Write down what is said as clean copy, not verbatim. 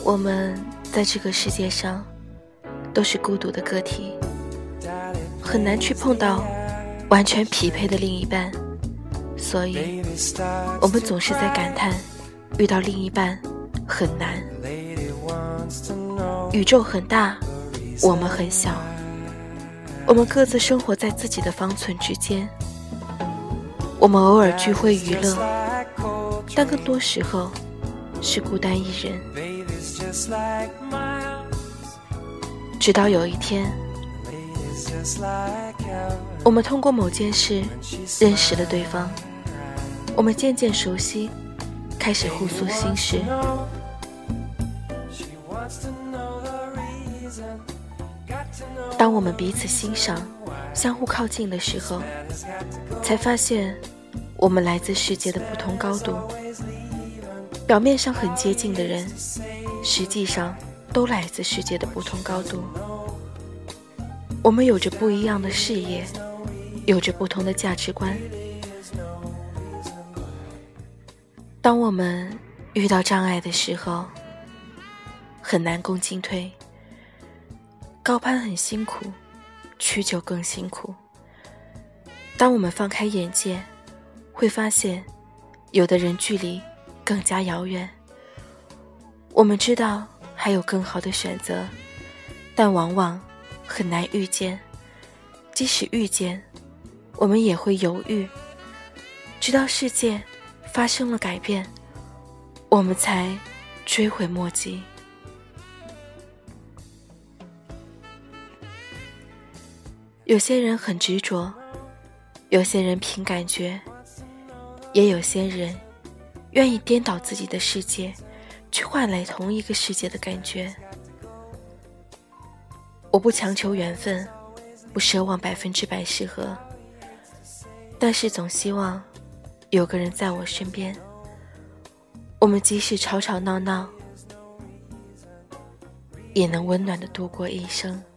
我们在这个世界上都是孤独的个体，很难去碰到完全匹配的另一半，所以我们总是在感叹遇到另一半很难。宇宙很大，我们很小，我们各自生活在自己的方寸之间，我们偶尔聚会娱乐，但更多时候是孤单一人。直到有一天，我们通过某件事认识了对方，我们渐渐熟悉，开始互诉心事。当我们彼此欣赏，相互靠近的时候，才发现我们来自世界的不同高度。表面上很接近的人，实际上都来自世界的不同高度。我们有着不一样的视野，有着不同的价值观。当我们遇到障碍的时候，很难攻进退。高攀很辛苦，屈就更辛苦。当我们放开眼界，会发现有的人距离更加遥远。我们知道还有更好的选择，但往往很难遇见。即使遇见，我们也会犹豫，直到世界发生了改变，我们才追悔莫及。有些人很执着，有些人凭感觉，也有些人愿意颠倒自己的世界，去换来同一个世界的感觉。我不强求缘分，不奢望100%适合，但是总希望有个人在我身边，我们即使吵吵闹闹，也能温暖地度过一生。